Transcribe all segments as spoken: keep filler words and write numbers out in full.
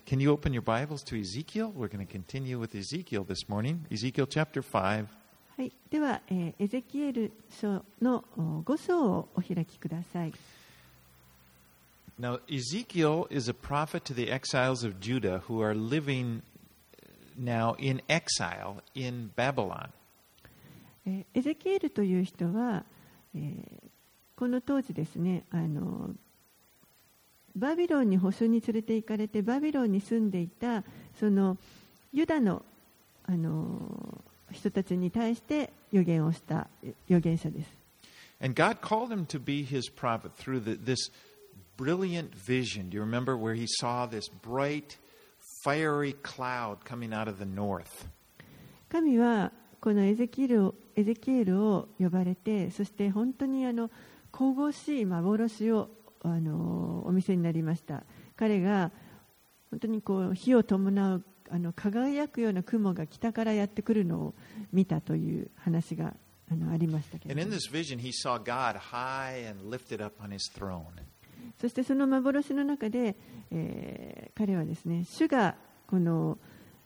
Can you open your Bibles to Ezekiel? We're going to continue with Ezekiel this morning. Ezekiel chapter five. はい、では、えー、エゼキエル書のご章をお開きください。 Now, Ezekiel is a prophet to the exiles of Judah who are living now in exile in Babylon. えー、エゼキエルという人は、えー、この当時ですね、あのバビロンに捕囚に連れて行かれてバビロンに住んでいたそのユダの、あの人たちに対して預言をした預言者です。 And God called him to be his prophet through the, this brilliant vision. Do you remember where he saw this bright, fiery cloud coming out of the north? 神はこのエゼキエルを、エゼキエルを呼ばれて、そして本当にあの神々しい幻をあのお見せになりました。彼が本当にこう火を伴うあの輝くような雲が北からやってくるのを見たという話があのありましたけれども。 And in this vision, he saw God high and lifted up on his throne. そしてその幻の中で、えー、彼はですね、主がこの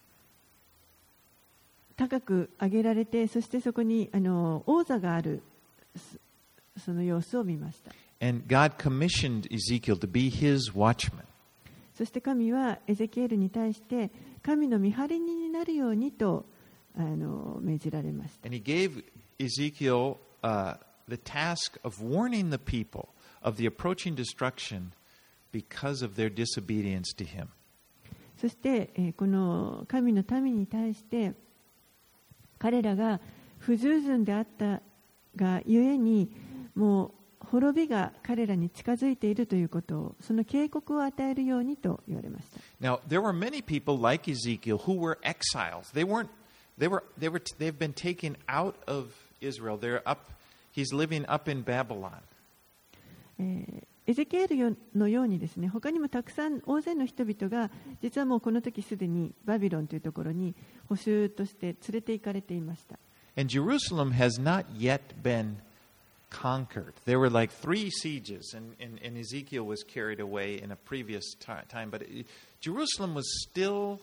高く上げられて、そしてそこにあの王座があるその様子を見ました。 And God commissioned Ezekiel to be his watchman. そして神はエゼキエルに対して神の見張り人になるようにとあの命じられました。 And he gave Ezekiel uh, the task of warning the people of the approaching destruction because of their disobedience to him. そして、えー、この神の民に対して彼らが不従順であったがゆえにもう滅びが彼らに近づいているということを、その警告を与えるようにと言われました。 Now, there were many people like Ezekiel who were exiles. They weren't, they were, they were, they've been taken out of Israel. They're up, he's living up in Babylon. えー、エゼキエルのようにですね、他にもたくさん大勢の人々が実はもうこの時すでにバビロンというところに捕囚として連れて行かれていました。 And Jerusalem has not yet been conquered. There were like three sieges, and, and, and Ezekiel was carried away in a previous t- time. But it, Jerusalem was still,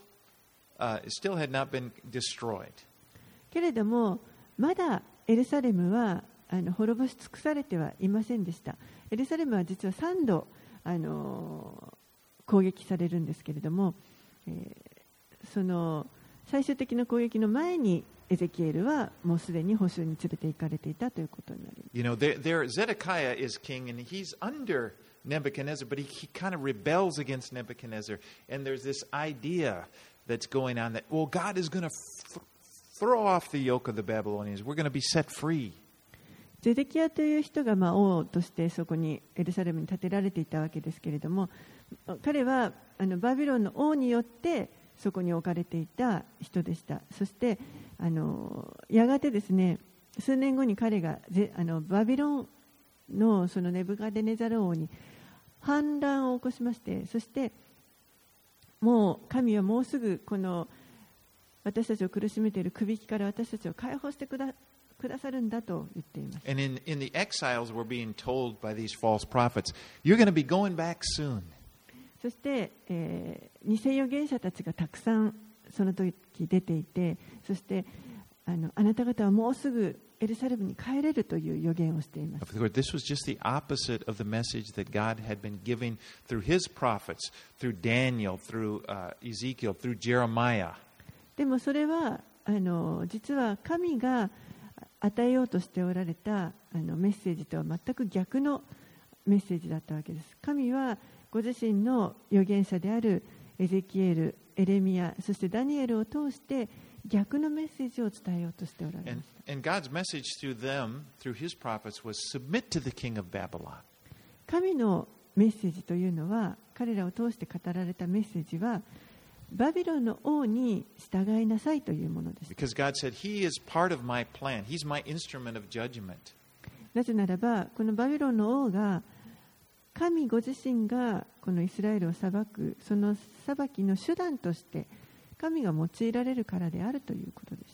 uh, still had not been destroyed. けれども、まだエルサレムはあの滅ぼし尽くされてはいませんでした。エルサレムは実はさんどあの攻撃されるんですけれども、えー、その最終的な攻撃の前にエゼキエルはもうすでに捕囚に連れて行かれていたということになります。 You know, there, there Zedekiah is king, and he's under Nebuchadnezzar, but he, he kind of rebels against Nebuchadnezzar. And there's this idea that's going on that, well, God is going to f- throw off the yoke of the Babylonians. We're going to be set free. ゼデキヤという人がまあ王としてそこにエルサレムに建てられていたわけですけれども、彼はあのバビロンの王によってそこに置かれていた人でした。そしてあのやがてですね、数年後に彼がゼあのバビロンのそのネブカデネザル王に反乱を起こしまして、そしてもう神はもうすぐこの私たちを苦しめている首引きから私たちを解放してくだくださるんだと言っています。 And in, in the exiles, we're being told by these false prophets, you're going to be going back soon. そして、えー、偽預言者たちがたくさんその時出ていて、そしてあのあなた方はもうすぐエルサレムに帰れるという予言をしています。 Of course, this was just the opposite of the message that God had been giving through His prophets, through Daniel, through uh, Ezekiel, through Jeremiah. でもそれはあの実は神が与えようとしておられたあのメッセージとは全く逆のメッセージだったわけです。神はご自身の預言者であるエゼキエル、エレミヤ、そしてダニエルを通して逆のメッセージを伝えようとしておられました。 And, and God's message through them, through His prophets, was submit to the king of Babylon. 神のメッセージというのは、彼らを通して語られたメッセージは、バビロンの王に従いなさいというものです。 Because God said, He is part of my plan. He's my instrument of judgment. なぜならば、このバビロンの王が神ご自身がこのイスラエルを裁く、その裁きの手段として神が用いられるからであるということでした。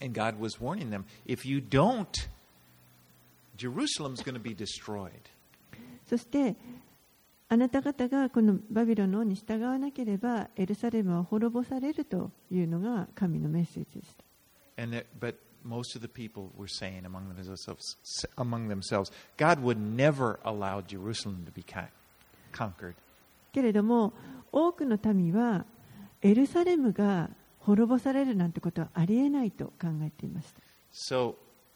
And God was warning them, if you don't, Jerusalem's going to be destroyed. そしてあなた方がこのバビロンの王に従わなければエルサレムは滅ぼされるというのが神のメッセージでした。 And that, but most of the people were saying among themselves, among themselves, God would never allow Jerusalem to be conquered. けれども多くの民はエルサレムが滅ぼされるなんてことはありえないと考えていました。 So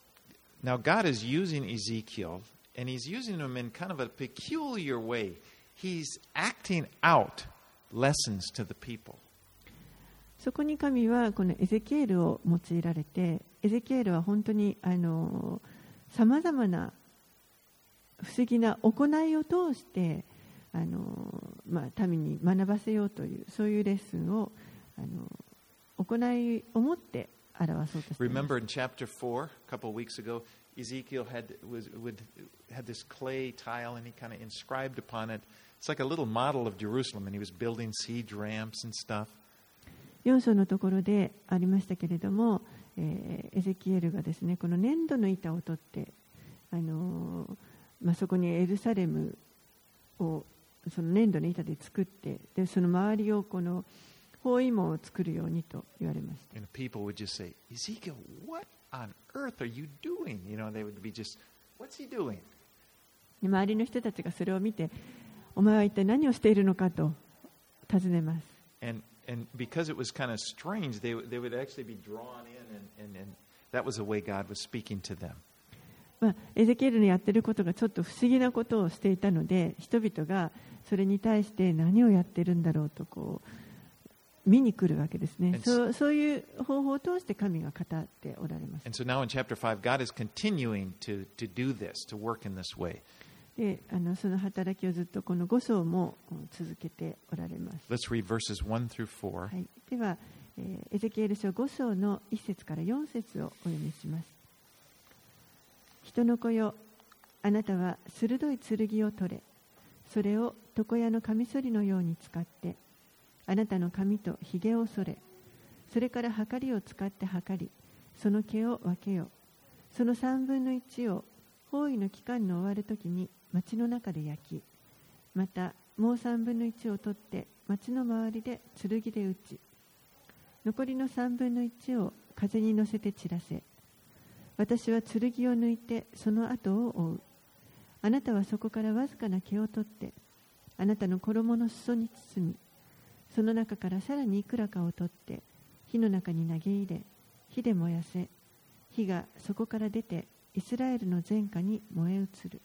now God is using Ezekiel, and He's using him in kind of a peculiar way. He's acting out lessons to the people. そこに神はこのエゼキエルを用いられて、エゼキエルは本当にあのさまざまな不思議な行いを通してあの、まあ、民に学ばせようというそういうレッスンをあの行いを持って表そうとしています。 Remember in chapter four, a couple of weeks ago, Ezekiel had was would had this clay tile, and he kind of inscribed upon it. It's like a little model of Jerusalem, and he was building siege ramps and stuff. よん章のところでありましたけれども、えー、エゼキエルがですね、この粘土の板を取って、あのーまあ、そこにエルサレムをその粘土の板で作って、でその周りをこの包囲網を作るようにと言われました。 And people would just say, Ezekiel, what on earth are you doing? You know, they would be just, what's he doing? で周りの人たちがそれを見て、お前は一体何をしているのかと尋ねます。 And and because it was kind of strange, they they would actually be drawn in, and and, and that was the way God was speaking to them. まあ、エゼキエルのやっていることがちょっと不思議なことをしていたので、人々がそれに対して何をやっているんだろうとこう見に来るわけですね。そう、そういう方法を通して神が語っておられます。 And so now in chapter five, God is continuing to to do this, to work in this way. で、あのその働きをずっとこのご章も続けておられます。 Let's read verses one through four. はい、では、えー、エゼキエル書ご章のいち節からよん節をお読みします。人の子よ、あなたは鋭い剣を取れ、それを床屋のカミソリのように使って、あなたの髪とひげを剃れ、それからはかりを使ってはかり、その毛を分けよ。その三分の一を包囲の期間の終わるときに町の中で焼き、またもう三分の一を取って町の周りで剣で打ち、残りの三分の一を風に乗せて散らせ。私は剣を抜いてその後を追う。あなたはそこからわずかな毛を取って、あなたの衣の裾に包み、その中からさらにいくらかを取って、火の中に投げ入れ、火で燃やせ。火がそこから出て、イスラエルの前科に燃え移る。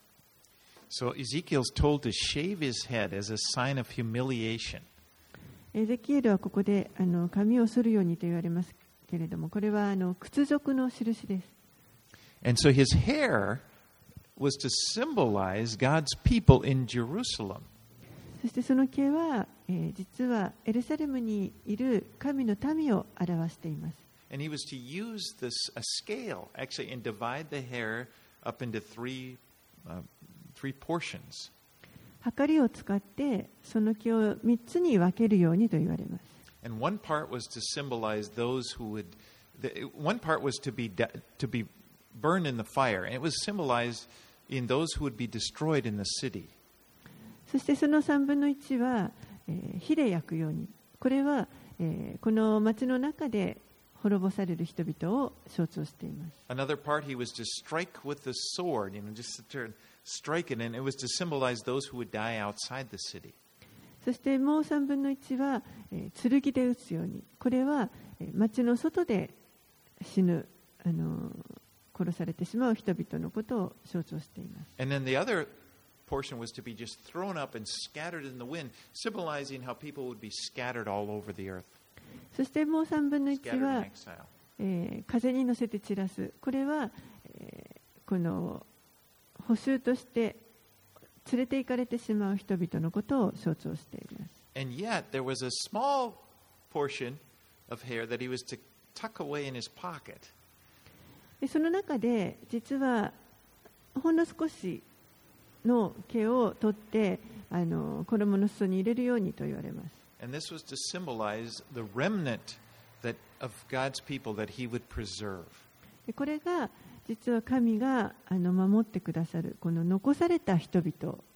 So Ezekiel's told to shave his head as a sign of humiliation. エゼキエルはここであの髪を剃るようにと言われますけれども、これはあの屈辱の印です。 And so his hair was to symbolize God's people in Jerusalem. そしてその毛は、えー、実はエルサレムにいる神の民を表しています。 And he was to use this a scale actually and divide the hair up into three uh, three portions. はかりを使ってその毛を三つに分けるようにと言われます。 And one part was to symbolize those who would. The, one part was to be to be burned in the fire, and it was symbolized in those who would be destroyed in the city. そしてその三分の一は、えー、火で焼くように。これは、えー、この町の中で滅ぼされる人々を象徴しています。 Another part, he was to strike with the sword, you know, just to strike it, and it was to symbolize those who would die outside the city. そしてもう三分の一は、えー、剣で撃つように。これは、えー、町の外で死ぬ、あのー、殺されてしまう人々のことを象徴しています。 And then the other portion was to be just thrown up and scattered in the wind, symbolizing how people would be scattered all over the earth. そしてもう三分の一は、えー、風に乗せて散らす。これは、えー、この捕囚として連れて行かれてしまう人々のことを象徴しています。 And yet there was a small portion of hair that he was to tuck away in his pocket. でその中で実はほんの少しの毛を取ってあの衣の裾に入れるようにと言われます。 And this was to symbolize the remnant that of God's people that he would preserve. でこれが実は神があの守ってくださるこの残された人々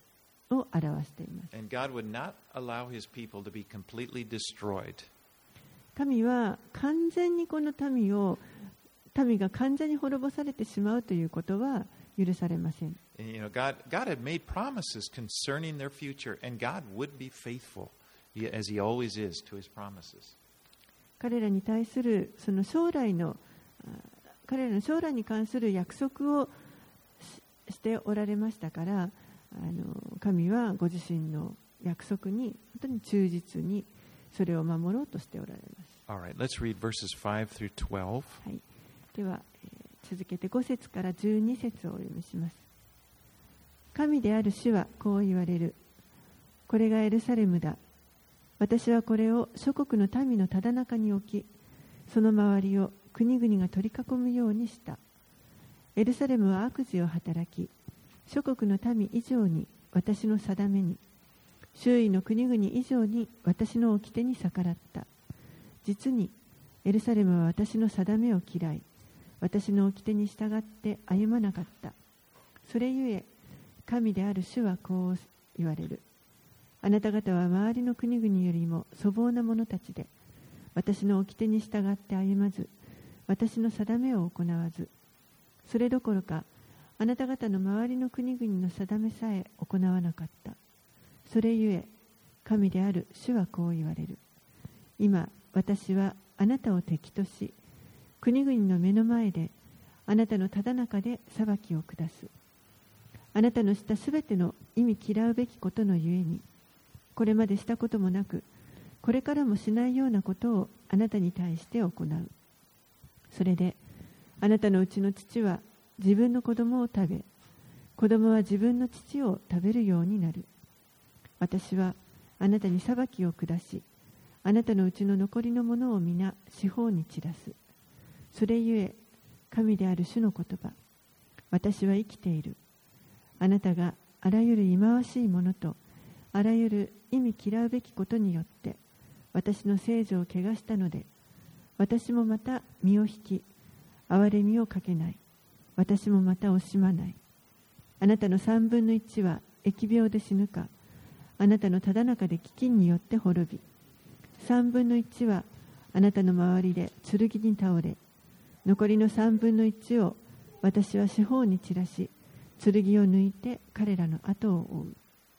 を表しています。 And God would not allow his people to be completely destroyed. 神は完全にこの民を民が完全に滅ぼされてしまうということは許されません。 And, you know, God, God had made promises concerning their future, and God would be faithful, as he always is, to his promises. 彼らに対するその将来の彼らの将来に関する約束を し, しておられましたから、あの神はご自身の約束に本当に忠実にそれを守ろうとしておられます。 All right, let's read verses five through twelve. はい、では、えー、続けてご節からじゅうに節をお読みします。神である主はこう言われる。これがエルサレムだ。私はこれを諸国の民のただ中に置き、その周りを国々が取り囲むようにした。エルサレムは悪事を働き、諸国の民以上に私の定めに、周囲の国々以上に私の掟に逆らった。実にエルサレムは私の定めを嫌い、私の掟に従って歩まなかった。それゆえ神である主はこう言われる。あなた方は周りの国々よりも粗暴な者たちで、私の掟に従って歩まず、私の定めを行わず、それどころかあなた方の周りの国々の定めさえ行わなかった。それゆえ神である主はこう言われる。今私はあなたを敵とし、国々の目の前であなたのただ中で裁きを下す。あなたのしたすべての意味嫌うべきことのゆえに、これまでしたこともなく、これからもしないようなことをあなたに対して行う。それであなたのうちの父は自分の子供を食べ、子供は自分の父を食べるようになる。私はあなたに裁きを下し、あなたのうちの残りのものを皆四方に散らす。それゆえ神である主の言葉、私は生きている。あなたがあらゆる忌まわしいものとあらゆる意味嫌うべきことによって私の聖女を汚したので、私もまた身を引き憐れみをかけない。私もまた惜しまない。あなたの三分の一は疫病で死ぬか、あなたのただ中で飢饉によって滅び、三分の一はあなたの周りで剣に倒れ、残りの三分の一を私は四方に散らし、剣を抜いて彼らの後を追う。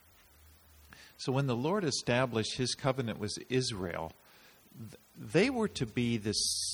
So when the Lord established his covenant with Israel, they were to be the,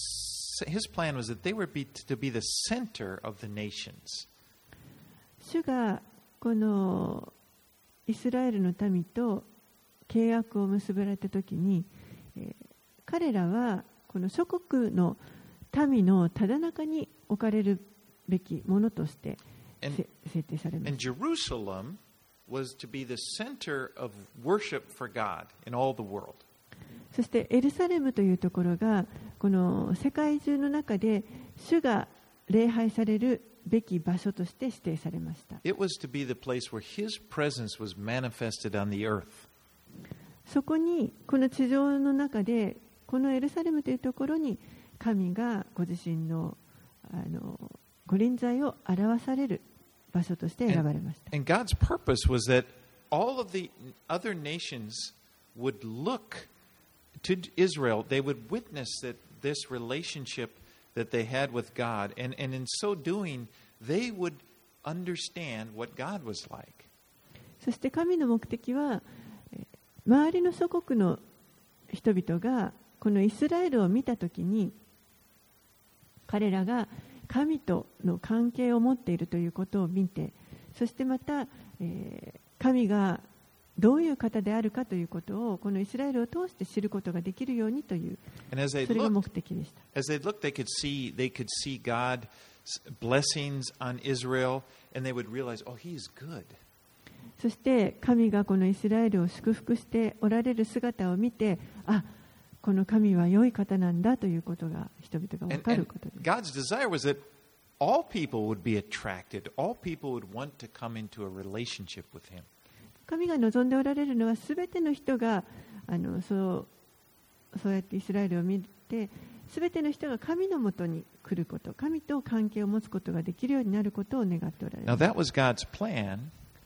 his plan was that they were be, to be the center of the nations. 主がこのイスラエルの民と契約を結ばれたときに、えー、彼らはこの諸国の民のただ中に置かれるべきものとして設定されました。 And Jerusalem was to be the center of worship for God in all the world. そしてエルサレムというところがこの世界中の中で主が礼拝されるべき場所として指定されました。 It was to be the place where his presence was manifested on the earth. そこにこの地上の中でこのエルサレムというところに神がご自身のあのご臨在を表される場所として選ばれました。 And, and God's purpose was that all of the other nations would look to Israel. They would witness that this relationship that they had with God, and, and in so doing, they would understand what God was like. そして神の目的は周りの諸国の人々がこのイスラエルを見たときに彼らが神との関係を持っているということを見て、そしてまた、えー、神がどういう方であるかということをこのイスラエルを通して知ることができるようにという、それが目的でした。 As they looked, they could see, they could see God's blessings on Israel, and they would realize, oh, He's good. そして神がこのイスラエルを祝福しておられる姿を見て、あ、この神は良い方なんだということが人々が分かることです。 God's desire was that all people would be attracted, all people would want to come into a relationship with Him. 神が望んでおられるのはすべての人があのそうそうやってイスラエルを見て、すべての人が神のもとに来ること、神と関係を持つことができるようになることを願っておられます。 Now that was God's plan.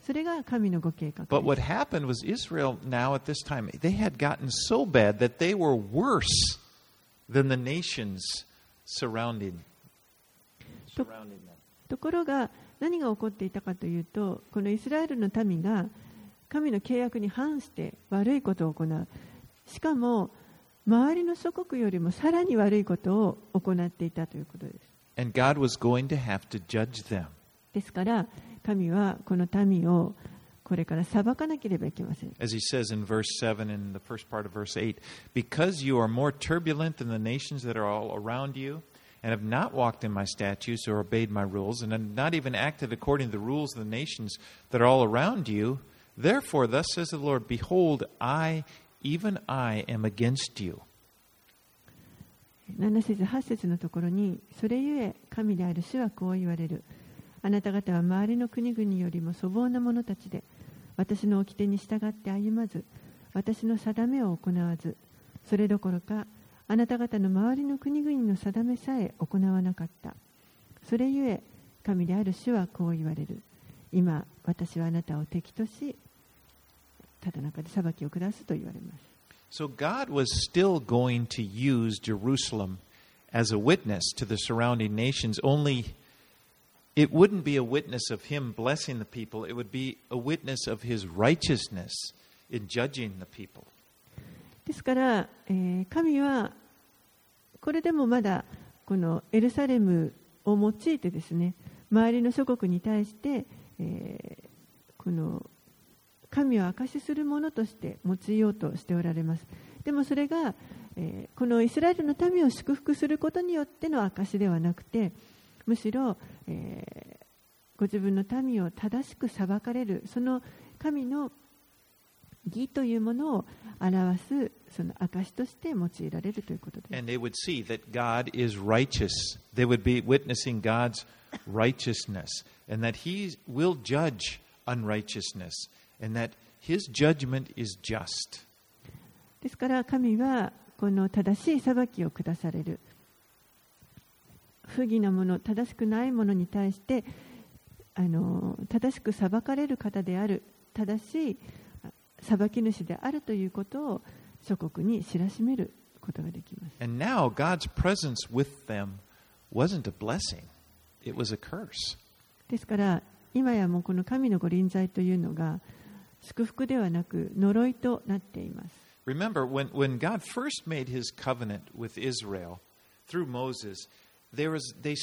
それが神のご計画 But で what す。 happened was Israel now at this time, they had gotten so bad that they were worse than the nations surrounding, surrounding them. ところが何が起こっていたかというと、このイスラエルの民が神の契約に反して悪いことを行う。しかも周りの諸国よりもさらに悪いことを行っていたということです。 And God was going to have to judge them. ですから神はこの民をこれから裁かなければいけません。 As he says in verse seven and the first part of verse eight, because you are more turbulent than the nations that are all around you, and have not walked in my statutes or obeyed my rules, and have not even acted according to the rules of the nations that are all around you, therefore thus says the Lord, behold, I, even I, am against you. なな節はち節のところに、それゆえ神である主はこう言われる。あなた方は周りの国々よりも粗暴な者たちで、私の掟に従って歩まず、私の定めを行わず、それどころかあなた方の周りの国々の定めさえ行わなかった。それゆえ神である主はこう言われる。今私はあなたを敵としただ中で裁きを下すと言われます。 So God was still going to use Jerusalem as a witness to the surrounding nations, only it wouldn't be a witness of him blessing the people, it would be a witness of his righteousness in judging the people. ですから、えー、神はこれでもまだこのエルサレムを用いてですね、周りの諸国に対して、えー、この神を証しするものとして用いようとしておられます。でもそれが、えー、このイスラエルの民を祝福することによっての証ではなくて、むしろ、えー、ご自分の民を正しく裁かれる、その神の義というものを表すその証として用いられるということです。 And they would see that God is righteous. They would be witnessing God's righteousness and that he will judge unrighteousness and that his judgment is just. ですから神はこの正しい裁きを下される。不義なもの、正しくないものに対してあの正しく裁かれる方である、正しい裁き主であるということを諸国に知らしめることができます。 And now God's presence with them wasn't a blessing. It was a curse. ですから今やもうこの神のご臨在というのが祝福ではなく呪いとなっています。 Remember, when, when God first made his covenant with Israel through Moses, there was, they,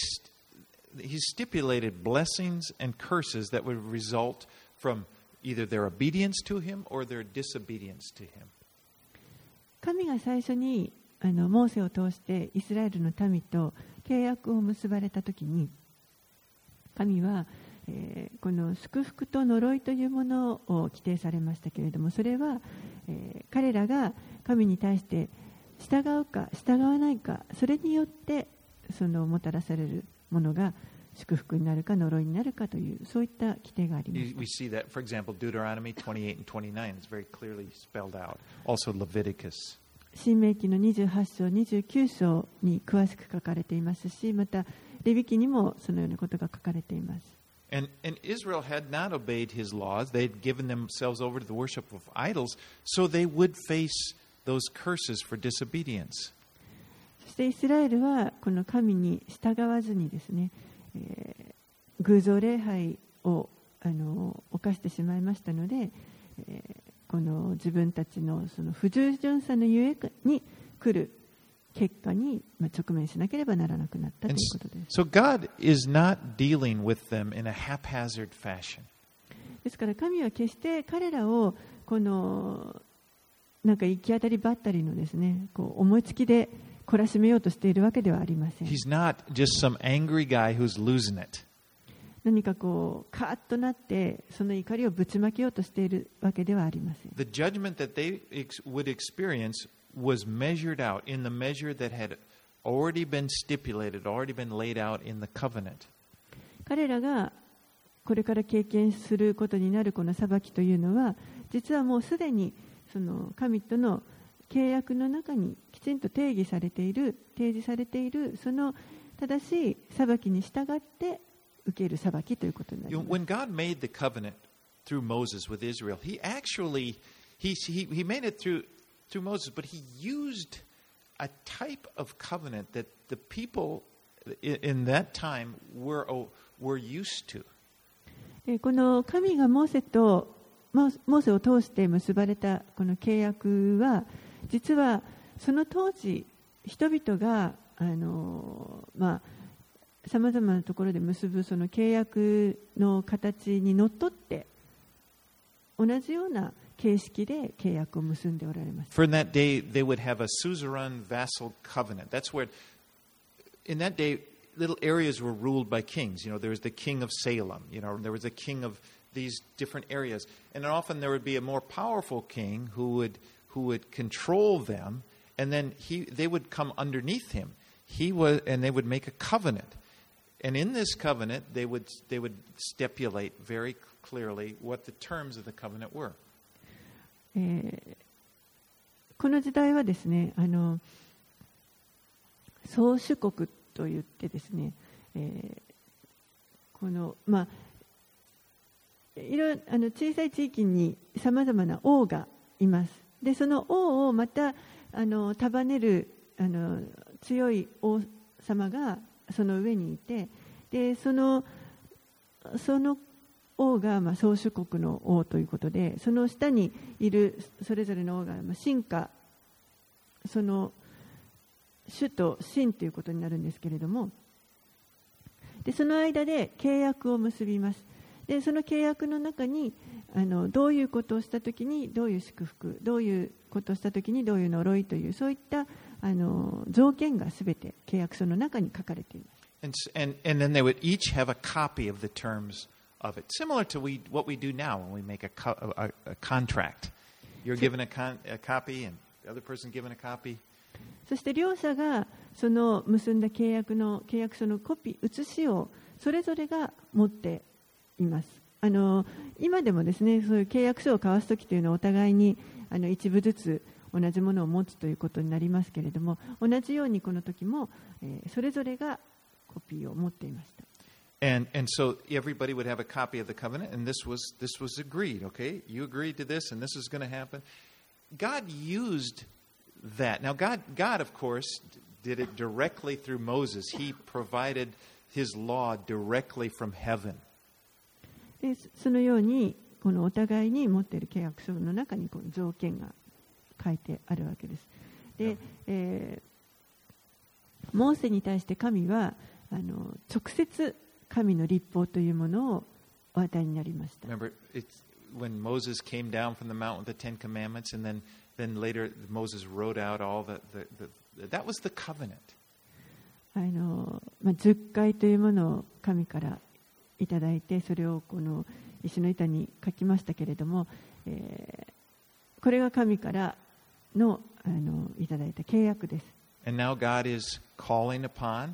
he stipulated blessings and curses that would result from either their obedience to him or their disobedience to him. 神が最初にあのモーセを通してイスラエルの民と契約を結ばれたときに、神は、えー、この祝福と呪いというものを規定されましたけれども、それは、えー、彼らが神に対して従うか従わないか、それによってそのもたらされるものが祝福になるか呪いになるかという、そういった規定があります。 We see that, for example, Deuteronomy twenty-eight and twenty-nine is very clearly spelled out. Also Leviticus. 申命記のにじゅうはち章、にじゅうきゅう章に詳しく書かれていますし、またレビ記にもそのようなことが書かれています。 And, and Israel had not obeyed his laws. They had given themselves over to the worship of idols, so they would face those curses for disobedience. そしてイスラエルはこの神に従わずにですね、えー、偶像礼拝をあの犯してしまいましたので、えー、この自分たちのその不従順さのゆえに来る結果に直面しなければならなくなったということです。 So God is not dealing with them in a haphazard fashion. ですから神は決して彼らをこのなんか行き当たりばったりのですね、こう思いつきで懲らしめようとしているわけではありません。 He's not just some angry guy who's losing it. 何かこうカーッとなってその怒りをぶちまけようとしているわけではありません。 The judgment that they ex- would experience was measured out in the measure that had already been stipulated, already been laid out in the covenant. 彼らがこれから経験することになるこの裁きというのは、実はもうすでにその神との契約の中にきちんと定義されている、提示されているその正しい裁きに従って受ける裁きということになります。 When God made the covenant through Moses with Israel. He actually, he, he, he made it through, through Moses, but he used a type of covenant that the people in, in that time were, were used to. この神がモーセとモーセを通して結ばれたこの契約は、実はその当時人々があのまあさまざまなところで結ぶその契約の形にのっとって同じような形式で契約を結んでおられます。 For in that day, they would have a suzerain vassal covenant. That's where, in that day, little areas were ruled by kings. You know, there was the king of Salem. You know, there was a king of these different areas, and often there would be a more powerful king who would who would control them, and then he they would come underneath him. He was, and they would make a covenant, and in this covenant, they would they would stipulate very clearly what the terms of the covenant were. えー、この時代はですね、あの宗主国といってですね、えー、このまあいろあの小さい地域にさまざまな王がいます。でその王をまたあの束ねるあの強い王様がその上にいて、でそのその王がまあ宗主国の王ということで、その下にいるそれぞれの王がまあ臣下、その主と臣ということになるんですけれども、でその間で契約を結びます。でその契約の中にあのどういうことをしたときにどういう祝福、どういうことをしたときにどういう呪いという、そういったあの条件がすべて契約書の中に書かれています。 And, and, and then they would each have a copy of the terms of it, similar to we, what we do now when we make a, co- a, a contract. You're given a, con, a copy and the other person given a copy. そして両者がその結んだ契約の契約書のコピー、写しをそれぞれが持っています。あの今でもですね、そういう契約書を交わすときというのはお互いにあの一部ずつ同じものを持つということになりますけれども、同じようにこの時も、えー、それぞれがコピーを持っていました。 And and so everybody would have a copy of the covenant, and this was this was agreed. Okay, you agreed to this, and this is going to happen. God used that. Now, God, God, of course, did it directly through Moses. He provided His law directly from heaven. でそのようにこのお互いに持っている契約書の中にこの条件が書いてあるわけです。で、えー、モーセに対して神はあの直接神の律法というものをお与えになりました。 Remember, it's when Moses came down from the mountain with the Ten Commandments, and then then later Moses wrote out all the the, the that was the covenant. あのまあ十戒というものを神からいただいて、それをこの石の板に書きましたけれども、えー、これが神からのあのいただいた契約です。 And now God is calling upon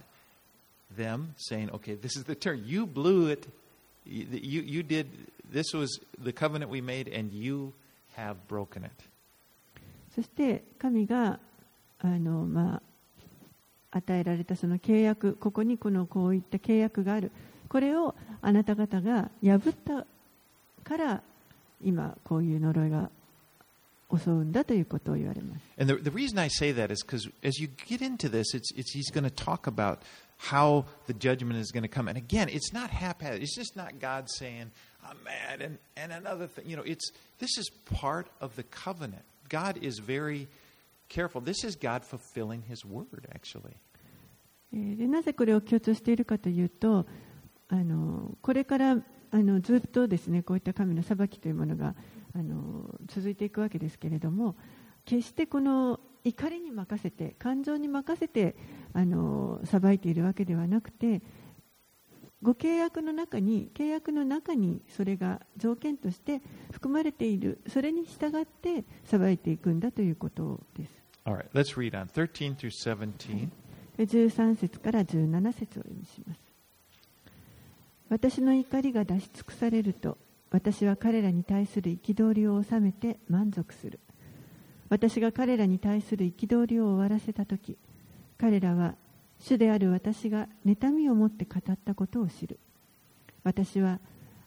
them, saying, "Okay, this is the term. You blew it. You you did. This was the covenant we made, and you have broken it." そして神があのまあ与えられたその契約、ここにこのこういった契約がある。これをあなた方が破ったから今こういう呪いが襲うんだということを言われます。 And the, the reason I say that is because as you get into this, it's, it's, he's going to talk about how the judgment is going to come. And again, it's not haphazard. It's just not God saying, "I'm mad," and, and another thing. You know, it's this is part of the covenant. God is very careful. This is God fulfilling His word, actually. でなぜこれを強調しているかというと、あのこれからあのずっとですね、こういった神の裁きというものがあの続いていくわけですけれども、決してこの怒りに任せて、感情に任せてあの裁いているわけではなくて、ご契約の中に契約の中にそれが条件として含まれている、それに従って裁いていくんだということです。 All right, let's read on thirteen through seventeen. じゅうさん節からじゅうなな節を読みします。私の怒りが出し尽くされると、私は彼らに対する憤りを収めて満足する。私が彼らに対する憤りを終わらせたとき、彼らは主である私が妬みを持って語ったことを知る。私は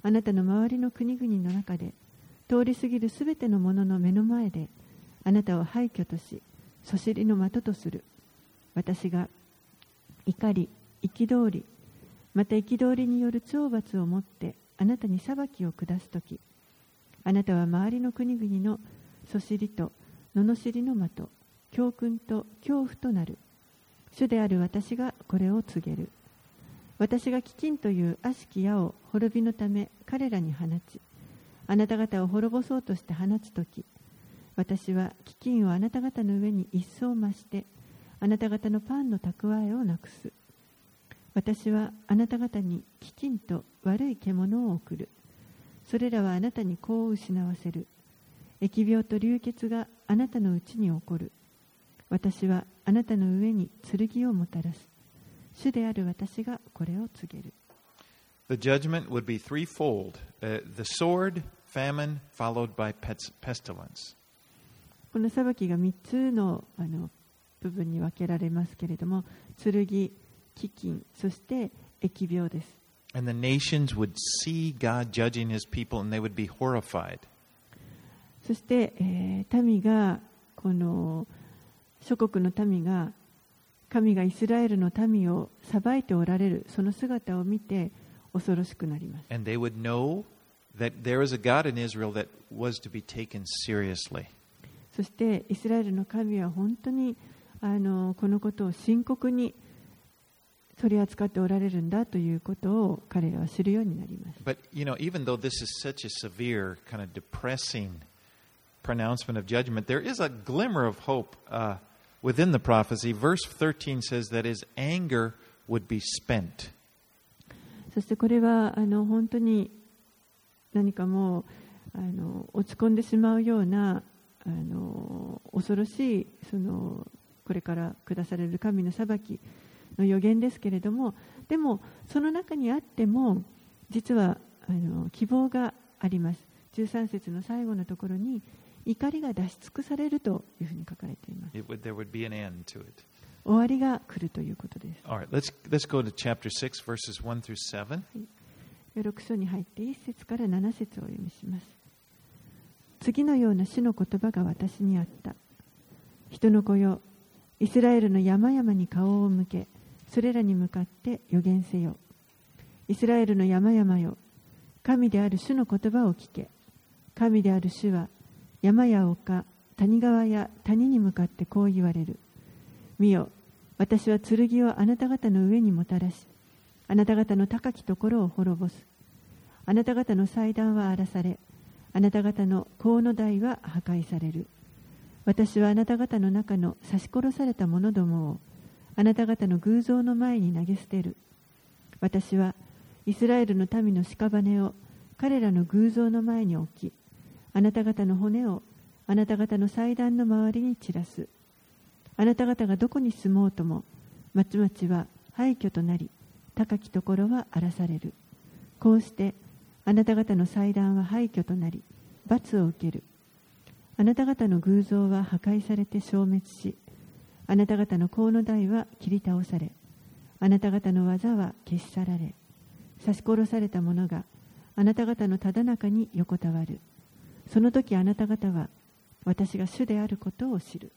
あなたの周りの国々の中で通り過ぎるすべてのものの目の前であなたを廃墟とし、そしりの的とする。私が怒り、憤り、また憤りによる懲罰をもってあなたに裁きを下すとき、あなたは周りの国々のそしりと罵りの的、教訓と恐怖となる。主である私がこれを告げる。私が飢饉という悪しき矢を滅びのため彼らに放ち、あなた方を滅ぼそうとして放つとき、私は飢饉をあなた方の上に一層増して、あなた方のパンの蓄えをなくす。私はあなた方に飢饉と悪い獣を送る。それらはあなたに子を失わせる。疫病と流血があなたのうちに起こる。私はあなたの上に剣をもたらす。主である私がこれを告げる。 The judgment would be threefold: uh, the sword, famine, followed by pestilence. この裁きが三つのあの部分に分けられますけれども、剣、飢饉、そして疫病です。 And the nations would see God judging his people and they would be horrified. そして、えー、民がこの諸国の民が神がイスラエルの民を裁いておられるその姿を見て恐ろしくなります。 And they would know that there is a God in Israel that was to be taken seriously. そしてイスラエルの神は本当にあのこのことを深刻に取り扱っておられるんだということを彼らは知るようになります。 But you know, even though this is such a severe, kind of depressing pronouncement of judgment, there is a glimmer of hope uh, within the prophecy. Verse thirteen says that his anger would be spent. そしてこれはあの本当に何かもうあの落ち込んでしまうようなあの恐ろしいそのこれから下される神の裁きの予言ですけれども、でもその中にあっても実はあの希望があります。じゅうさん節の最後のところに怒りが出し尽くされるというふうに書かれています。 It would, there would be an end to it. 終わりが来るということです。 All right, let's let's go to chapter six, verses one through seven. ろく章に入っていち節からなな節をお読みします。次のような主の言葉が私にあった。人の子よ、イスラエルの山々に顔を向け、それらに向かって予言せよ。イスラエルの山々よ、神である主の言葉を聞け。神である主は山や丘、谷川や谷に向かってこう言われる。見よ、私は剣をあなた方の上にもたらし、あなた方の高きところを滅ぼす。あなた方の祭壇は荒らされ、あなた方の香の台は破壊される。私はあなた方の中の刺し殺された者どもをあなた方の偶像の前に投げ捨てる。私はイスラエルの民の屍を彼らの偶像の前に置き、あなた方の骨をあなた方の祭壇の周りに散らす。あなた方がどこに住もうとも、町々は廃墟となり、高きところは荒らされる。こうしてあなた方の祭壇は廃墟となり、罰を受ける。あなた方の偶像は破壊されて消滅し、あなた方の香の台は切り倒され、あなた方の技は消し去られ、刺し殺された者があなた方のただ中に横たわる。その時あなた方は私が主であることを知る。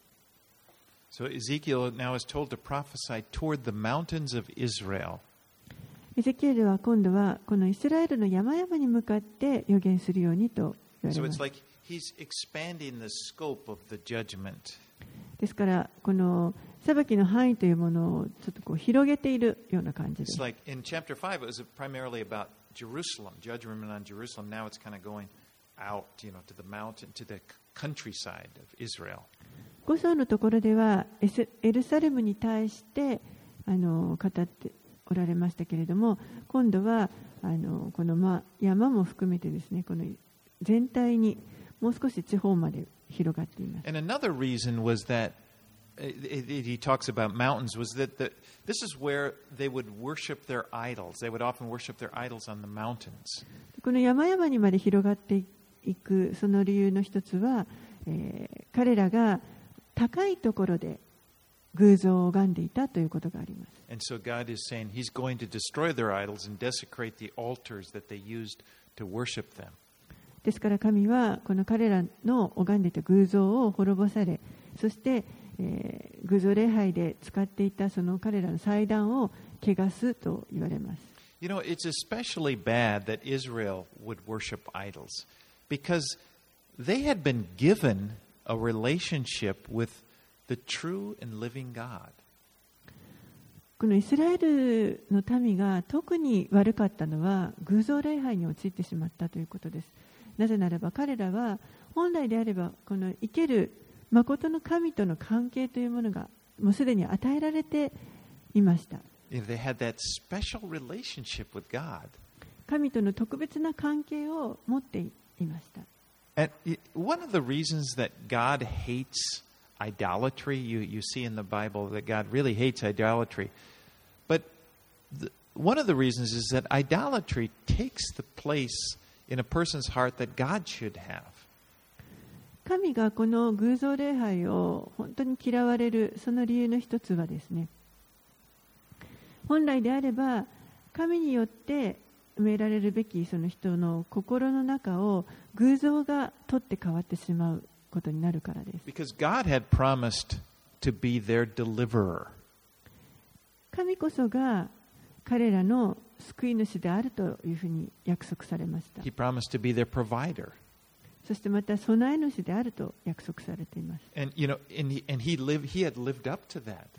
So Ezekiel now is told to prophesy toward the mountains of Israel. エゼキエルは今度はこのイスラエルの山々に向かって予言するようにと言われ So ま it's す。 like he's expanding the scope of the judgment. ですからこの裁きの範囲というものをちょっとこう広げているような感じで It's す。 like in chapter five, it was primarily about Jerusalem, judgment on Jerusalem. Now it's kind of going out, you know, to the mountain, to the countryside of Israel. ご章のところではエスエルサレムに対してあの語っておられましたけれども、今度はあのこの、まあ、山も含めてですね、この全体にもう少し地方まで広がっています。 And another reason was that it, it, he talks about mountains was that the, this is where they would worship their idols. They would often worship their idols on the mountains. この山々にまで広がっていくその理由の一つは、えー、彼らが高いところで偶像を拝んでいたということがあります。 And so God is saying he's going to destroy their idols and desecrate the altars that they used to worship them. ですから神はこの彼らの拝んでいた偶像を滅ぼされ、そして、えー、偶像礼拝で使っていたその彼らの祭壇を汚すと言われます。 You know, it's especially bad that Israel would worship idols because they had been given a relationship with the true and living God. このイスラエルの民が特に悪かったのは偶像礼拝に陥ってしまったということです。なぜならば彼らは本来であればこの生ける誠の神との関係というものがもうすでに与えられていました。 They had that special relationship with God. 神との特別な関係を持っていました。 And one of the reasons that God hates idolatry, you, you see in the Bible that God really hates idolatry. But the, one of the reasons is that idolatry takes the place in a person's heart that God should have. 神がこの偶像礼拝を本当に嫌われるその理由の一つはですね、本来であれば神によって埋められるべきその人の心の中を偶像が取って変わってしまうことになるからです。 Because God had promised to be their deliverer. 神こそが彼らの救い主であるというふうに約束されました。 He promised to be their provider. そしてまた備え主であると約束されています。 And you know, and he, and he lived, he had lived up to that.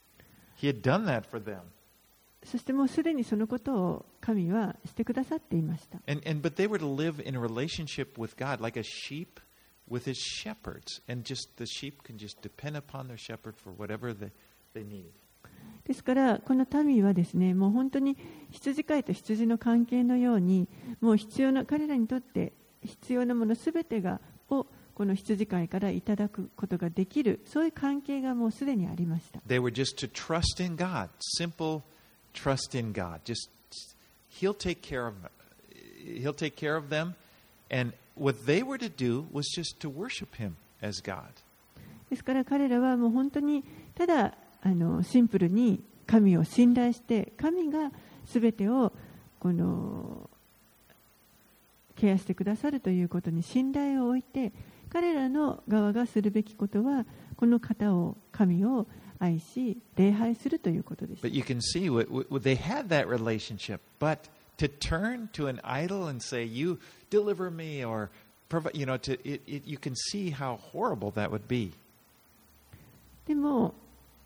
He had done that for them. そしてもうすでにそのことを神はしてくださっていました。 And, and, but they were to live in a relationship with God like a sheep with his shepherds. And just the sheep can just depend upon their shepherd for whatever they, they need. ですからこの民はですね、もう本当に羊飼いと羊の関係のように、もう必要な彼らにとって必要なものすべてがをこの羊飼いからいただくことができる、そういう関係がもうすでにありました。 They were just to trust in God, simple trust in God. Just He'll take care of He'll take care of them, and what they were to do was just to worship Him as God. ですから彼らはもう本当にただあのシンプルに神を信頼して、神がすべてをこのケアしてくださるということに信頼を置いて、彼らの側がするべきことはこの方を神を愛し礼拝するということです。 But you can see what, what they had that relationship, but to turn to an idol and say, "You deliver me," or provide, you know, to it, it, you can see how horrible that would be. でも、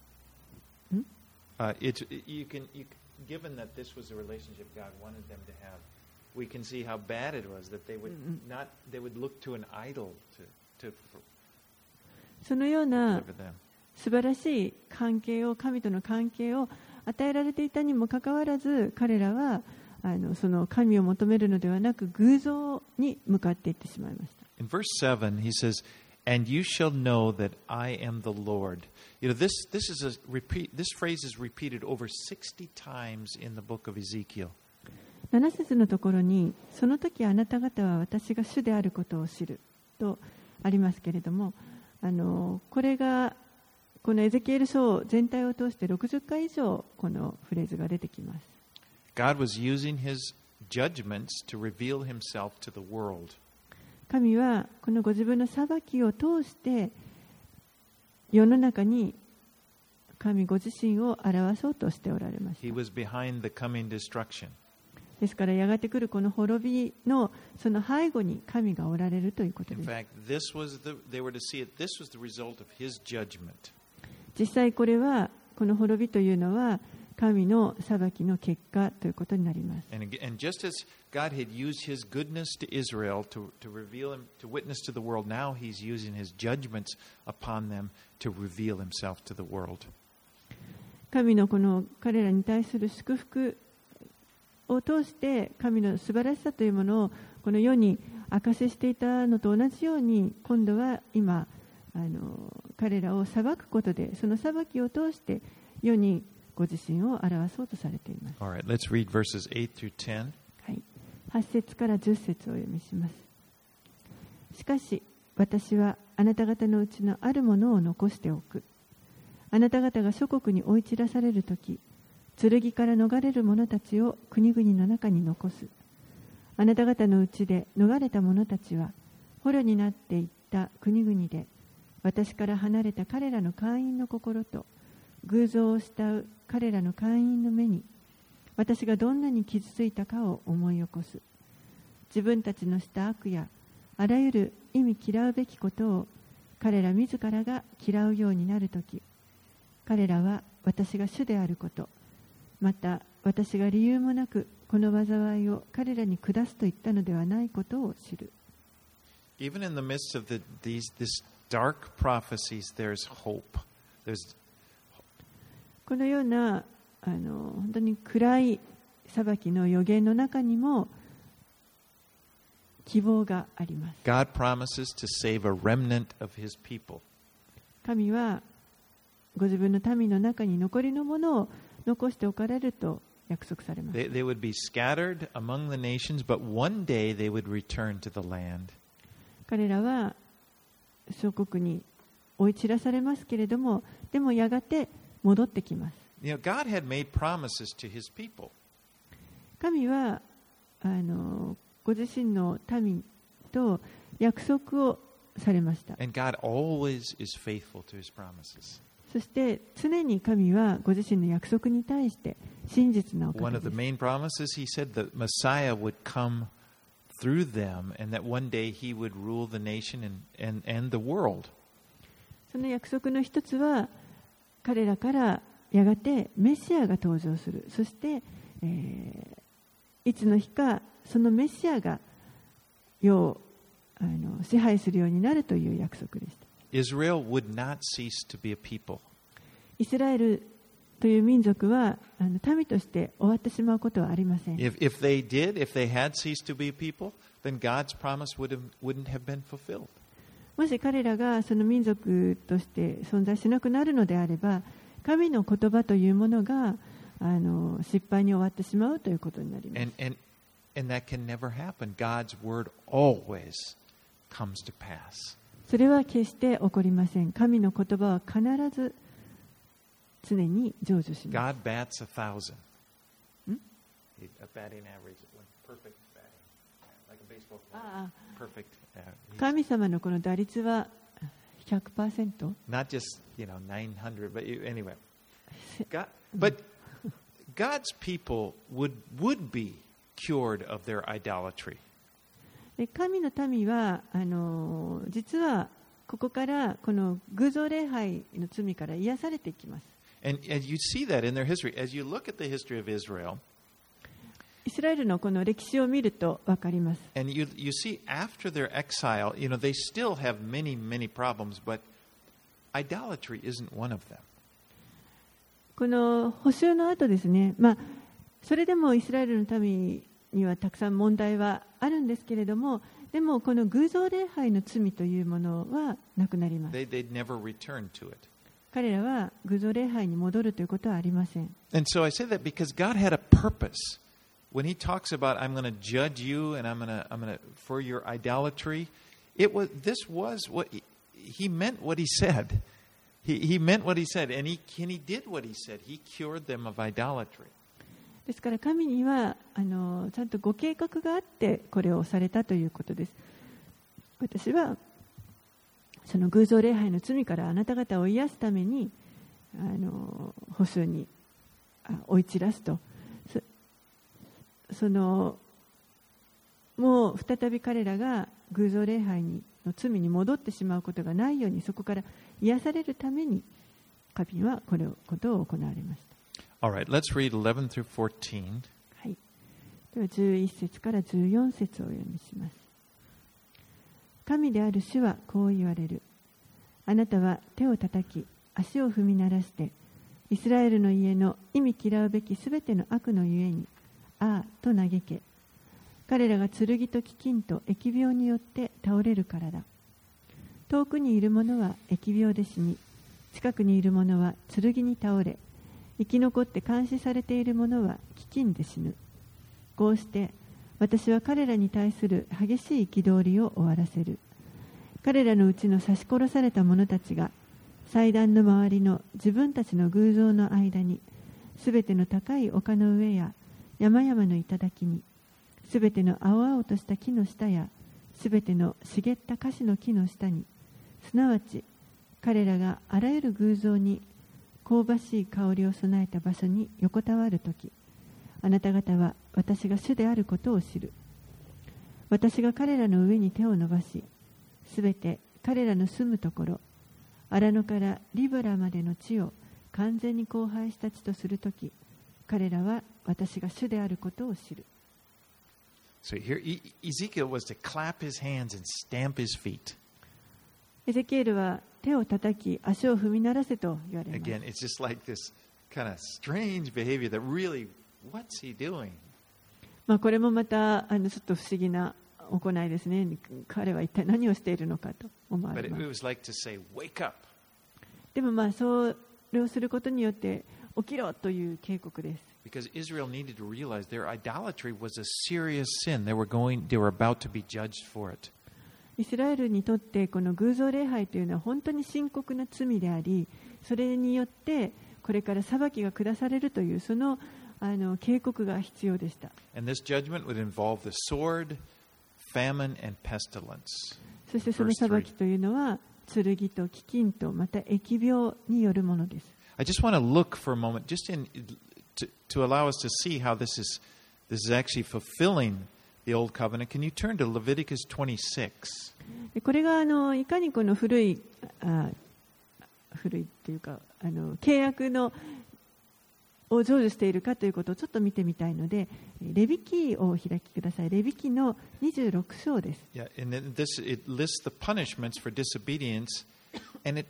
uh, it's you can you, given that this was a relationship God wanted them to have, we can see how bad it was that they would not they would look to an idol to to そのような deliver them. 素晴らしい関係を、神との関係を与えられていたにもかかわらず、彼らはあのその神を求めるのではなく偶像に向かっていってしまいました。 In verse seven, he says, "And you shall know that I am the Lord." You know, this this is a repeat. This phrase is repeated over sixty times in the book of Ezekiel. なな節のところに、その時あなた方は私が主であることを知るとありますけれども、あのこれがこのエゼキエル書全体を通してろくじゅっかい以上このフレーズが出てきます。 God was using his judgments to reveal himself to the world. 神はこのご自分の裁きを通して世の中に神ご自身を表そうとしておられました。 He was behind the coming destruction. ですからやがて来るこの滅びのその背後に神がおられるということで In す。 fact, this was the they were to see it. This was the result of his judgment. 実際これはこの滅びというのは神の裁きの結果ということになります。 And, ag- and just as God had used his goodness to Israel to, to reveal him, to witness to the world, now he's using his judgments upon them to reveal himself to the world. 神のこの彼らに対する祝福を通して神の素晴らしさというものをこの世に証ししていたのと同じように、今度は今あの彼らを裁くことで、その裁きを通して世にご自身を表そうとされています。 All right, let's read verses eight through ten. はい、はち節からじゅっ節をお読みします。しかし私はあなた方のうちのあるものを残しておく。あなた方が諸国に追い散らされるとき、剣から逃れる者たちを国々の中に残す。 あなた方のうちで逃れた者たちは捕虜になっていった国々で、私から離れた彼らの会員の心と偶像を慕う彼らの会員の目に、私がどんなに傷ついたかを思い起こす。自分たちのした悪やあらゆる意味嫌うべきことを彼ら自らが嫌うようになるとき、彼らは私が主であること、また私が理由もなくこの災いを彼らに下すと言ったのではないことを知る。 Even in the midst of the, these this dark prophecies, there's hope. There's このようなあの本当に暗い裁きの予言の中にも希望があります。 God promises to save a remnant of His people. 神はご自分の民の中に残りのものを残しておかれると約束されます。 They, they would be scattered among the nations, but one day they would return to the land. 彼らは諸国に追い散らされますけれども、でもやがて戻ってきます。 You know, God had made promises to His people. 神はあのご自身の民と約束をされました。 And God always is faithful to His promises. そして常に神はご自身の約束に対して真実なお方 One で of the す。 main promises, He said that Messiah would come through them and that one day He would rule the nation and, and, and the world. その約束の一つは、彼らからやがてメシアが登場する。そして、えー、いつの日かそのメシアが世をあの支配するようになるという約束でした。 Israel would not cease to be a people. イスラエルという民族はあの民として終わってしまうことはありません。 If, if they did, if they had ceased to be a people, then God's promise would have, wouldn't have been fulfilled. もし彼らがその民族として存在しなくなるのであれば、神の言葉というものがあの失敗に終わってしまうということになります。 And, and, and that can never happen. God's word always comes to pass. それは決して起こりません。神の言葉は必ず常に成就します。 God bats a thousand. Hmm? A batting average, perfect batting, like a baseball player. ああ Perfect. Uh, he's 神様のこの打率は ひゃくパーセント? not just, you know, nine hundred, but you, anyway. God, but God's people would would be cured of their idolatry. で神の民はあの実はここからこの偶像礼拝の罪から癒されていきます。 And, and you see that in their history. As you look at the history of Israel, イスラエルのこの歴史を見ると分かります。 and you, you see after their exile, you know, they still have many, many problems, but idolatry isn't one of them. この捕囚の後ですね、まあ、それでもイスラエルの民にはたくさん問題はあるんですけれども、でもこの偶像礼拝の罪というものはなくなります。 They, they'd never return to it. 彼らは偶像礼拝に戻るということはありません。 And so I say that because God had a purpose. When He talks about, I'm going to judge you and I'm going to, I'm going to, for your idolatry, it was, this was what He, he meant what He said. He, he meant what He said, and he, and he did what He said. He cured them of idolatry. ですから神にはあのちゃんとご計画があってこれをされたということです。私はその偶像礼拝の罪からあなた方を癒すためにあの捕囚に追い散らすと、そ, そのもう再び彼らが偶像礼拝にの罪に戻ってしまうことがないように、そこから癒されるために神はこれをことを行われました。 All right, let's read eleven through fourteen. はい、ではじゅういっ節からじゅうよん節をお読みします。神である主はこう言われる。あなたは手を叩き足を踏み鳴らしてイスラエルの家の忌み嫌うべきすべての悪のゆえにああと嘆け。彼らが剣と飢饉と疫病によって倒れるからだ。遠くにいる者は疫病で死に、近くにいる者は剣に倒れ、生き残って監視されている者は飢饉で死ぬ。こうして私は彼らに対する激しい憤りを終わらせる。彼らのうちの刺し殺された者たちが祭壇の周りの自分たちの偶像の間に、すべての高い丘の上や山々の頂に、 すべての青々とした木の下やすべての茂った樫の木の下に、すなわち彼らがあらゆる偶像に香ばしい香りを備えた場所に横たわるとき、あなた方は私が主であることを知る。私が彼らの上に手を伸ばし、すべて彼らの住むところ、荒野からリブラまでの地を完全に荒廃した地とするとき、彼らは私が主であることを知る。 So here Ezekiel was to clap his hands and stamp his feet. エゼキエルは手を叩き足を踏み鳴らせと言われます。 Again, it's just like this kind of strange behavior that really, what's he doing? まあこれもまたあのちょっと不思議な行いですね。彼は一体何をしているのかと思われます。 But it was like to say, wake up. でもまあそれをすることによって起きろという警告です。 Because Israel needed to realize their idolatry was a serious sin. They were going, they were about to be judged for it. イスラエルにとってこの偶像礼拝というのは本当に深刻な罪であり、それによってこれから裁きが下されるというそのあの警告が必要でした。 And this judgment would involve the sword, famine, and pestilence. そしてその裁きというのは剣と飢饉とまた疫病によるものです。 I just want to look for a moment, just in to, to allow us to see how this is this is actually fulfilling the old covenant. Can you turn to Leviticus twenty-six? これがあのいかにこの古いあ古いというかあの契約のを成就しているかということをちょっと見てみたいので、レビ記をお開きください。レビ記のにじゅうろく章です。 Yeah, and then this it lists the punishments for disobedience, and it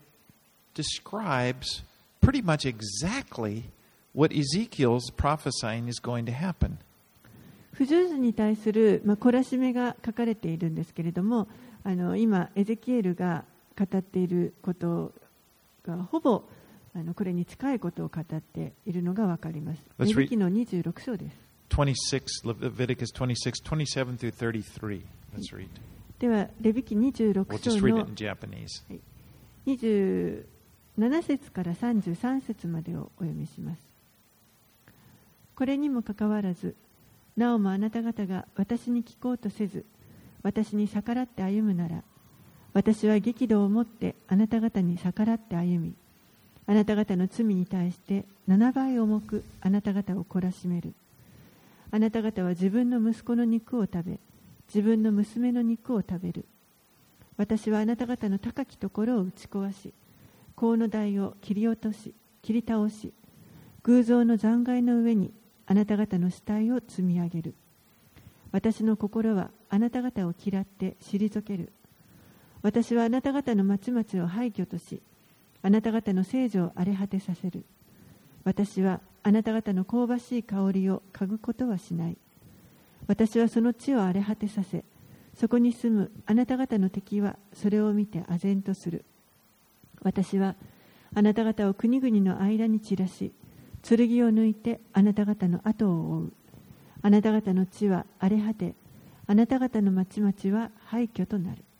describes pretty much exactly what Ezekiel's prophesying is going to happen. 不従順に対する、まあ、懲らしめが書かれているんですけれども、あの今エゼキエルが語っていることがほぼあのこれに近いことを語っているのがわかります。レビ記のにじゅうろく章です。 twenty-six, Leviticus twenty-six, twenty-seven through thirty-three. Let's read. ではレビ記にじゅうろく We'll 章 just read の it in Japanese. にじゅうなな節からさんじゅうさん節までをお読みします。これにもかかわらず、なおもあなた方が私に聞こうとせず、私に逆らって歩むなら、私は激怒を持ってあなた方に逆らって歩み、あなた方の罪に対してななばい重くあなた方を懲らしめる。あなた方は自分の息子の肉を食べ、自分の娘の肉を食べる。私はあなた方の高きところを打ち壊し、香の台を切り落とし、切り倒し、偶像の残骸の上にあなた方の死体を積み上げる。私の心はあなた方を嫌って退ける。私はあなた方の町々を廃墟とし、あなた方の聖女を荒れ果てさせる。私はあなた方の香ばしい香りを嗅ぐことはしない。私はその地を荒れ果てさせ、そこに住むあなた方の敵はそれを見て唖然とする。私はあなた方を国々の間に散らし、剣を抜いてあなた方の後を追う。あなた方の地は荒れ果て、あなた方の町々は廃墟となる。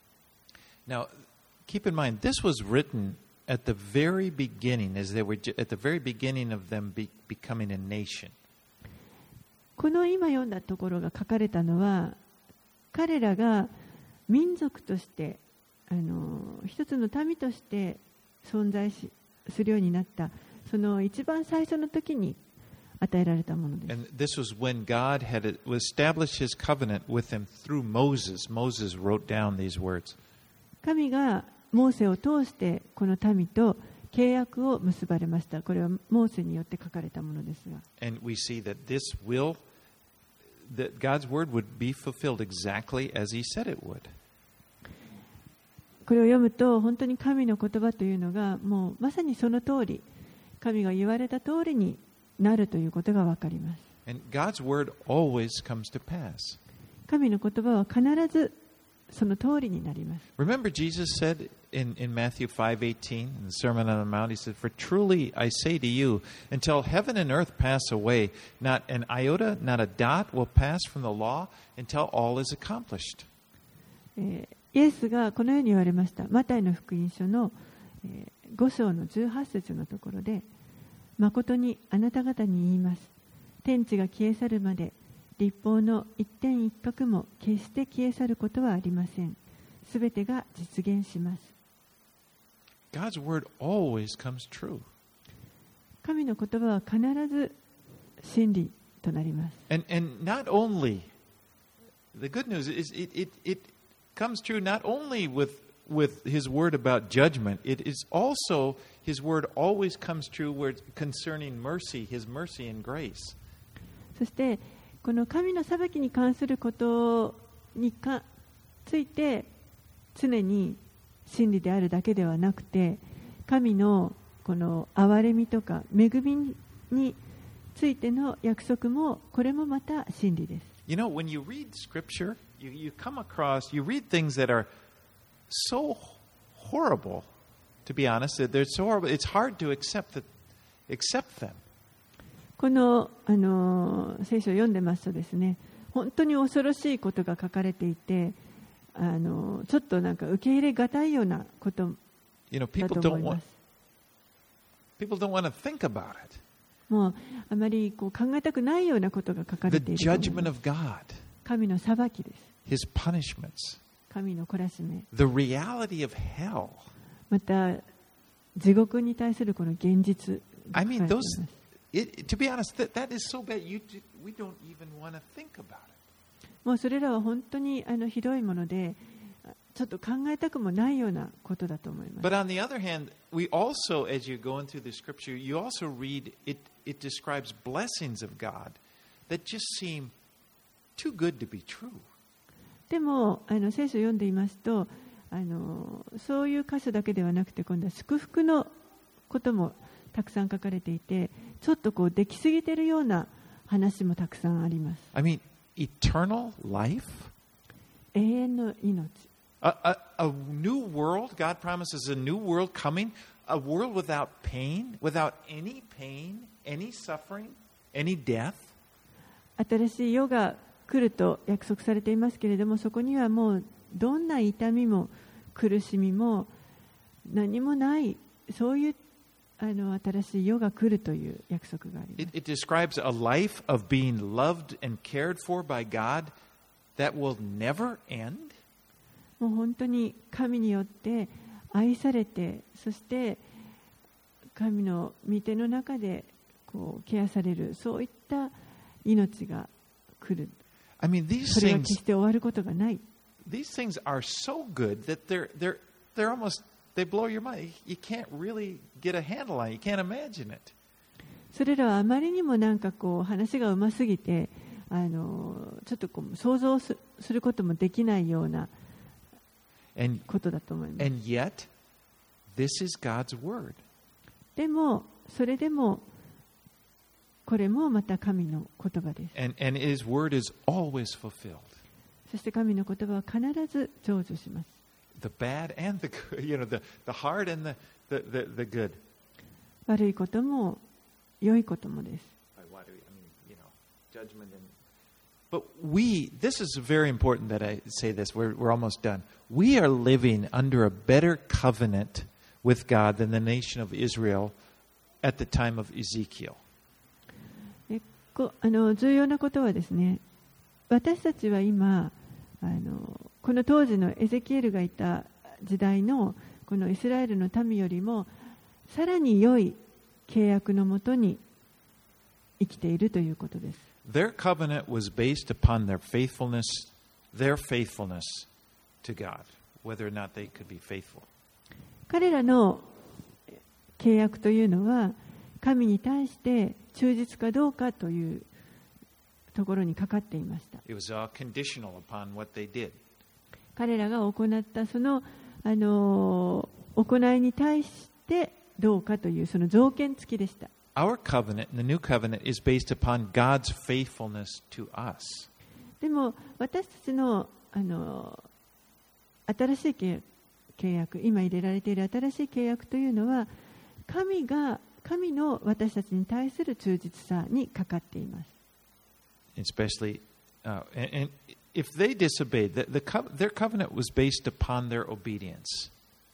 Now, keep in mind, this was written at the very beginning, as they were at the very beginning of them be, becoming a nation. この今読んだところが書かれたのは、彼らが民族としてあの一つの民として存在しするようになったその一番最初の時に与えられたものです。 And this was when God had established His covenant with them through Moses. Moses wrote down these words. 神がモーセを通してこの民と契約を結ばれました。これはモーセによって書かれたものですが。 And we see that this will, that God's word would be fulfilled exactly as He said it would. これを読むと本当に神の言葉というのがもうまさにその通り、神が言われた通りになるということがわかります。 And God's word always comes to pass. 神の言葉は必ずその通りになります。 Remember, Jesus said in, in Matthew five eighteen, in the Sermon on the Mount, He said, "For truly I say to you, until heaven and earth pass away, not an iota, not a dot will pass from the law until all is accomplished." えーイエスがこのように言われました。マタイの福音書のご章のじゅうはち節のところで、誠にあなた方に言います。天地が消え去るまで律法の一点一画も決して消え去ることはありません。すべてが実現します。 God's word always comes true. 神の言葉は必ず真理となります。 And, and not only, the good news is it, it, it comes true not only with, with His word about judgment, it is also His word always comes true where it's concerning mercy, His mercy and grace. そしてこの神の裁きに関することにかついて常に真理であるだけではなくて、神のこの憐れみとか恵みについての約束もこれもまた真理です。 You know, when you read Scripture, you, you come across, you read things that are so horrible, to be honest, they're so horrible, it's hard to accept, that, accept them. この、あの聖書を読んでますとですね、本当に恐ろしいことが書かれていて、あのちょっとなんか受け入れがたいようなことだと思います。 People don't want to think about it. もうあまりこう考えたくないようなことが書かれていると思います。 The judgment of God. 神の裁きです。 His punishments. 神の懲らしめ。 The reality of hell. また地獄に対するこの現実が I 書かれ mean, てい those, ます。 it, to be honest, that, that is so bad, you, we don't even want to think about it. もうそれらは本当にあのひどいもので、ちょっと考えたくもないようなことだと思います。 But on the other hand, we also, as you're going through the scripture, you also read it, it describes blessings of God that just seem too good to be true. でもあの聖書を読んでいますと、あのそういう箇所だけではなくて、今度は祝福のこともたくさん書かれていて、ちょっとこうできすぎているような話もたくさんあります。 I mean, eternal life? 永遠の命。 A, a, a new world, God promises a new world coming, a world without pain, without any pain, any suffering, any death. 新しい世が来ると約束されていますけれども、そこにはもうどんな痛みも苦しみも何もない、そういうあの新しい世が来るという約束があります。 It, it describes a life of being loved and cared for by God that will never end. もう本当に神によって愛されて、そして神の御手の中でこうケアされる、そういった命が来る。 I mean, these それは things, 決して終わることがない。 these things are so good that they're, they're, they're almost, they blow your mind. You can't really get a handle on it. You can't imagine it. それらはあまりにもなんかこう話がうますぎて、あのちょっとこう想像することもできないようなことだと思います。 And yet, this is God's word. でもそれでもこれもまた神の言葉です。 And, and His word is always fulfilled. そして神の言葉は必ず成就します。 The bad and the good, you know, the, the hard and the, the, the, the good. 悪いことも良いこともです。 I mean, you know, judgment and... But we, this is very important that I say this, we're, we're almost done. We are living under a better covenant with God than the nation of Israel at the time of Ezekiel. えこあの重要なことはですね、私たちは今あのこの当時のエゼキエルがいた時代のこのイスラエルの民よりもさらに良い契約のもとに生きているということです。 Their covenant was based upon their faithfulness, their faithfulness to God, whether or not they could be faithful. 彼らの契約というのは神に対して忠実かどうかというところにかかっていました。 It was all conditional upon what they did. 彼らが行ったその、あの行いに対してどうかというその条件付きでした。 Our covenant, the new covenant, is based upon God's faithfulness to us. でも私たちの、あの新しい契約、今入れられている新しい契約というのは神が神の私たちに対する忠実さにかかっています。 Especially, uh, and, and if they disobeyed, the, the co- their covenant was based upon their obedience.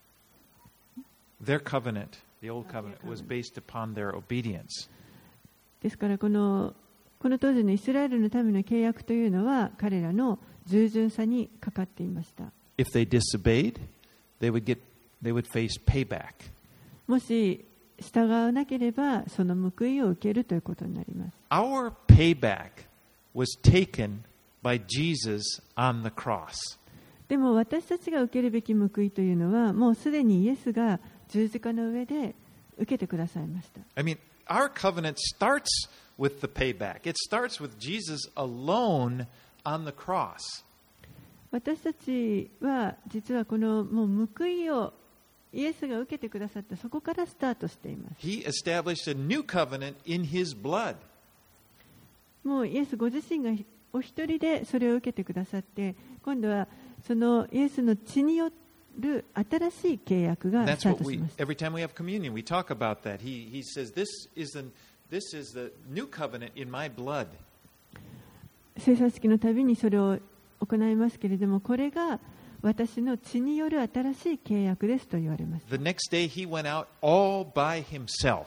Their covenant, the old covenant, was based upon their obedience. ですからこのこの当時のイスラエルのための契約というのは彼らの従順さにかかっていました。 If they disobeyed, they would get, they would face payback. もし従わなければその報いを受けるということになります。 Our payback was taken by Jesus on the cross. でも私たちが受けるべき報いというのはもうすでにイエスが十字架の上で受けてくださいました。 I mean, our covenant starts with the payback. It starts with Jesus alone on the cross. 私たちは実はこのもう報いをイエスが受けてくださったそこからスタートしています。 He established a new covenant in His blood. もうイエスご自身がお一人でそれを受けてくださって、今度はそのイエスの血による新しい契約が And ス that's ター what トし we, ました。 every time we have communion, we talk about that. He, he says, this is, the, this is the new covenant in my blood. 聖餐式のたびにそれを行いますけれども、これが私の血による新しい契約ですと言われます。 The next day he went out all by himself.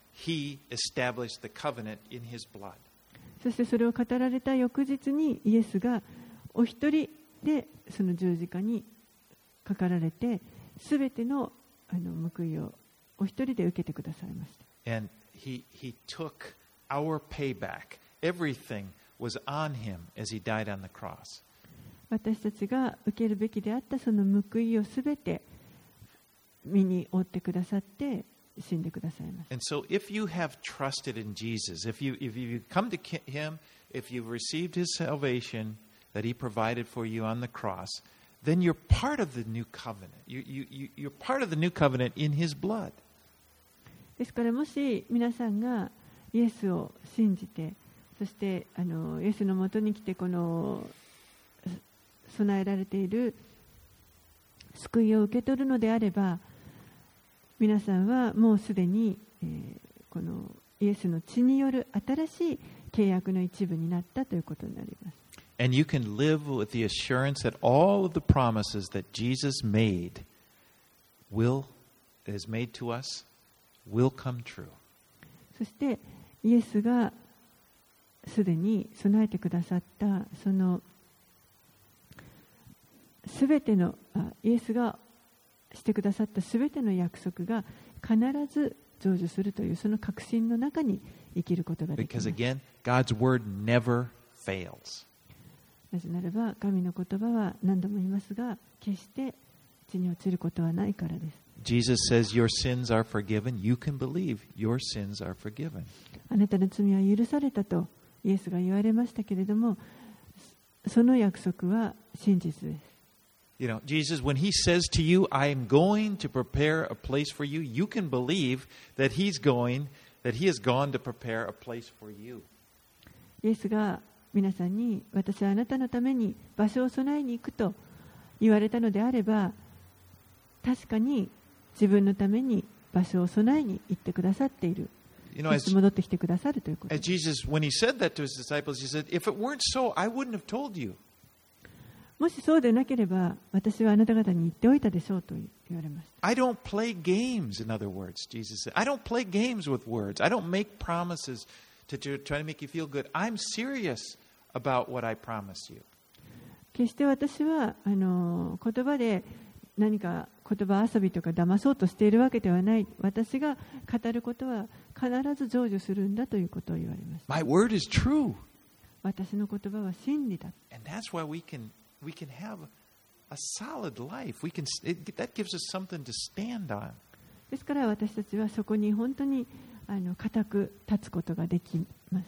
He established the covenant in his blood. そしてそれを語られた翌日にイエスがお一人でその十字架にかかられて、すべてのあの報いをお一人で受けてくださいました。 And he, he took our payback. Everything was on him as he died on the cross. 私たちが受けるべきであったその報いをすべて身に負ってくださって死んでくださいます。 And so if you have trusted in Jesus, if you, if you come to him, if you've received his salvation that he provided for you on the cross, then you're part of the new covenant. You, you, you, you're part of the new covenant in his blood. ですからもし皆さんがイエスを信じて、そしてあのイエスのもとに来てこの備えられている救いを受け取るのであれば、皆さんはもうすでに、えー、このイエスの血による新しい契約の一部になったということになります。 And you can live with the assurance that all of the promises that Jesus made will, has made to us, will come true. そしてイエスがすでに備えてくださったそのすべてのイエスがしてくださったすべての約束が必ず成就するというその確信の中に生きることができます。 Because again, God's word never fails. なぜならば神の言葉は何度も言いますが決して地に落ちることはないからです。 Jesus says your sins are forgiven. You can believe your sins are forgiven. あなたの罪は許されたとイエスが言われましたけれども、その約束は真実です。 You know, Jesus, when he says to you, I am going to prepare a place for you, you can believe that he's going, that he has gone to prepare a place for you. イエスが皆さんに私はあなたのために場所を備えに行くと言われたのであれば、確かに自分のために場所を備えに行ってくださっている。 You know, そ as, して戻ってきてくださるということ as です。 Jesus, when he said that to his disciples, he said, if it weren't so, I wouldn't have told you. もしそうでなければ私はあなた方に言っておいたでしょうと言われました。 I don't play games, in other words, Jesus said. I don't play games with words. I don't make promises to, to try to make you feel good. I'm serious about what I promise you. 決して私はあの言葉で何か言葉遊びとか騙そうとしているわけではない。私が語ることは必ず成就するんだということを言われました。 My word is true. 私の言葉は真理だ。 And that's why we can we can have a solid life. We can it, that gives us something to stand on. ですから私たちはそこに本当にあの固く立つことができます。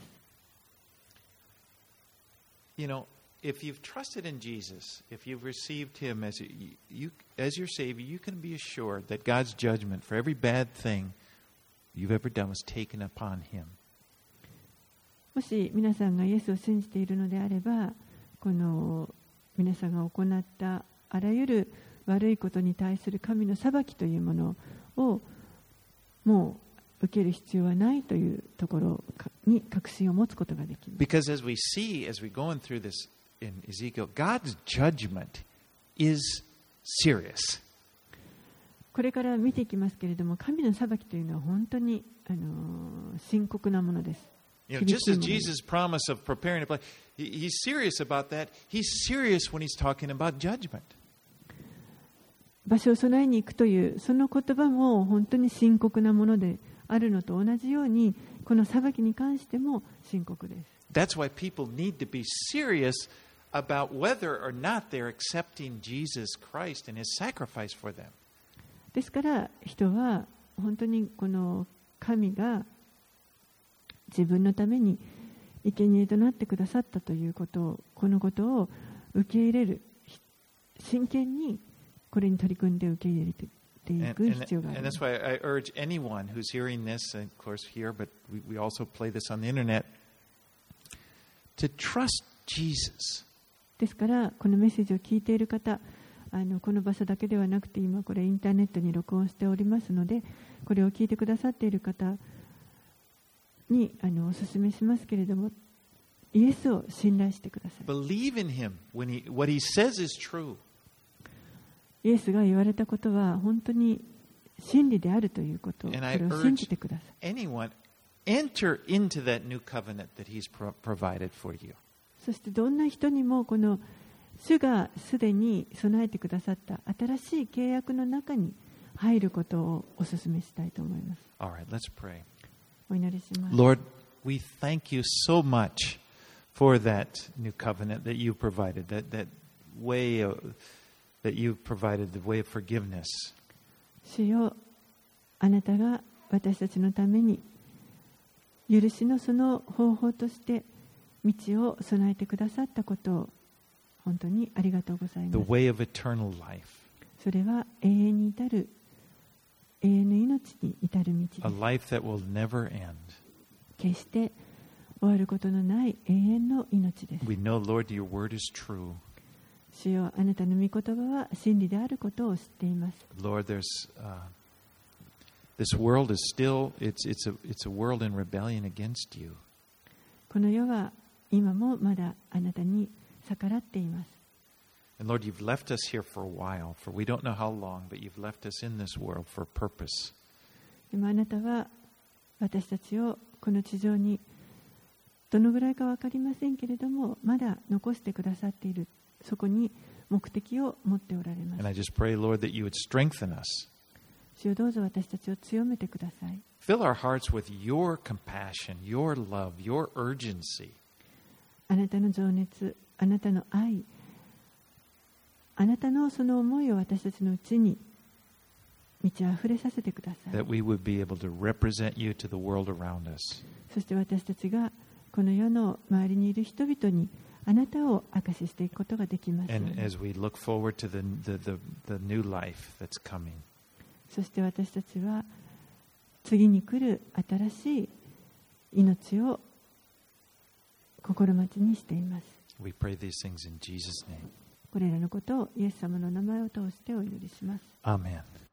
You know, if you've trusted in Jesus, if you've received him as you, you as your Savior, you can be assured that God's judgment for every bad thing you've ever done was taken upon him. もし皆さんがイエスを信じているのであれば、この皆さんが行ったあらゆる悪いことに対する神の裁きというものをもう受ける必要はないというところに確信を持つことができます。 Because as we see, as we're going through this in Ezekiel, God's judgment is serious. これから見ていきますけれども、神の裁きというのは本当にあの深刻なものです。 You know, 厳 just しい as ものに Jesus' promise of preparing a place, he, he's serious about that. He's serious when he's talking about judgment. 場所を備えに行くというその言葉も本当に深刻なものであるのと同じように、この裁きに関しても深刻です。 That's why people need to be serious about whether or not they're accepting Jesus Christ and his sacrifice for them. ですから人は本当にこの神が自分のために生贄となってくださったということを、このことを受け入れる、真剣にこれに取り組んで受け入れてい And, く and, 必要があり and ま that's す。 why I urge anyone who's hearing this, and of course here, but we, we also play this on the internet, to trust Jesus. ですからこのメッセージを聞いている方、あのこの場所だけではなくて今これインターネットに録音しておりますので、これを聞いてくださっている方にあのお勧めしますけれども、イエスを信頼してください。 Believe in him when he, what he says is true. イエスが言われたことは本当に真理であるということを、こ And I れを信 urge じてください。 anyone, enter into that new covenant that he's pro- provided for you. そしてどんな人にもこの主がすでに備えてくださった新しい契約の中に入ることをお勧めしたいと思います。 All right, let's pray. お祈りします。 Lord, we thank you so much for that new covenant that you provided, that, that way of, that you provided, the way of forgiveness. 主よ、あなたが私たちのために許しのその方法として道を備えてくださったことを本当にありがとうござい The ます。 way of eternal life, それは永遠に至る永遠の命に至る道 a です。 life that will never end. 決して終わることのない永遠の命です。 We know, Lord, your word is true. 主よ、あなたの御言葉は真理であることを知っています。 Lord, there's uh, this world is still it's it's a it's a world in rebellion against you. この世は今もまだあなたに逆らっています。 And Lord, you've left us here for a while, for we don't know how long, but you've left us in this world for a purpose. でもあなたは私たちをこの地上にどのぐらいか分かりませんけれども、まだ残してくださっている、そこに目的を持っておられま And I す。 just pray, Lord, that you would strengthen us. 主よ、どうぞ私たちを強めてください。 Fill our hearts with your compassion, your love, your urgency. あなたの情熱、あなたの愛、あなたのその思いを私たちのうちに満ち溢れさせてください。 That we would be able to represent you to the world around us. そして私たちがこの世の周りにいる人々にあなたを証ししていくことができますよう And に。 as we look forward to the, the, the, the new life that's coming, そして私たちは次に来る新しい命を心待ちにしています。 we pray these things in Jesus' name. これらのことをイエス様の名前を通してお祈りします。 Amen.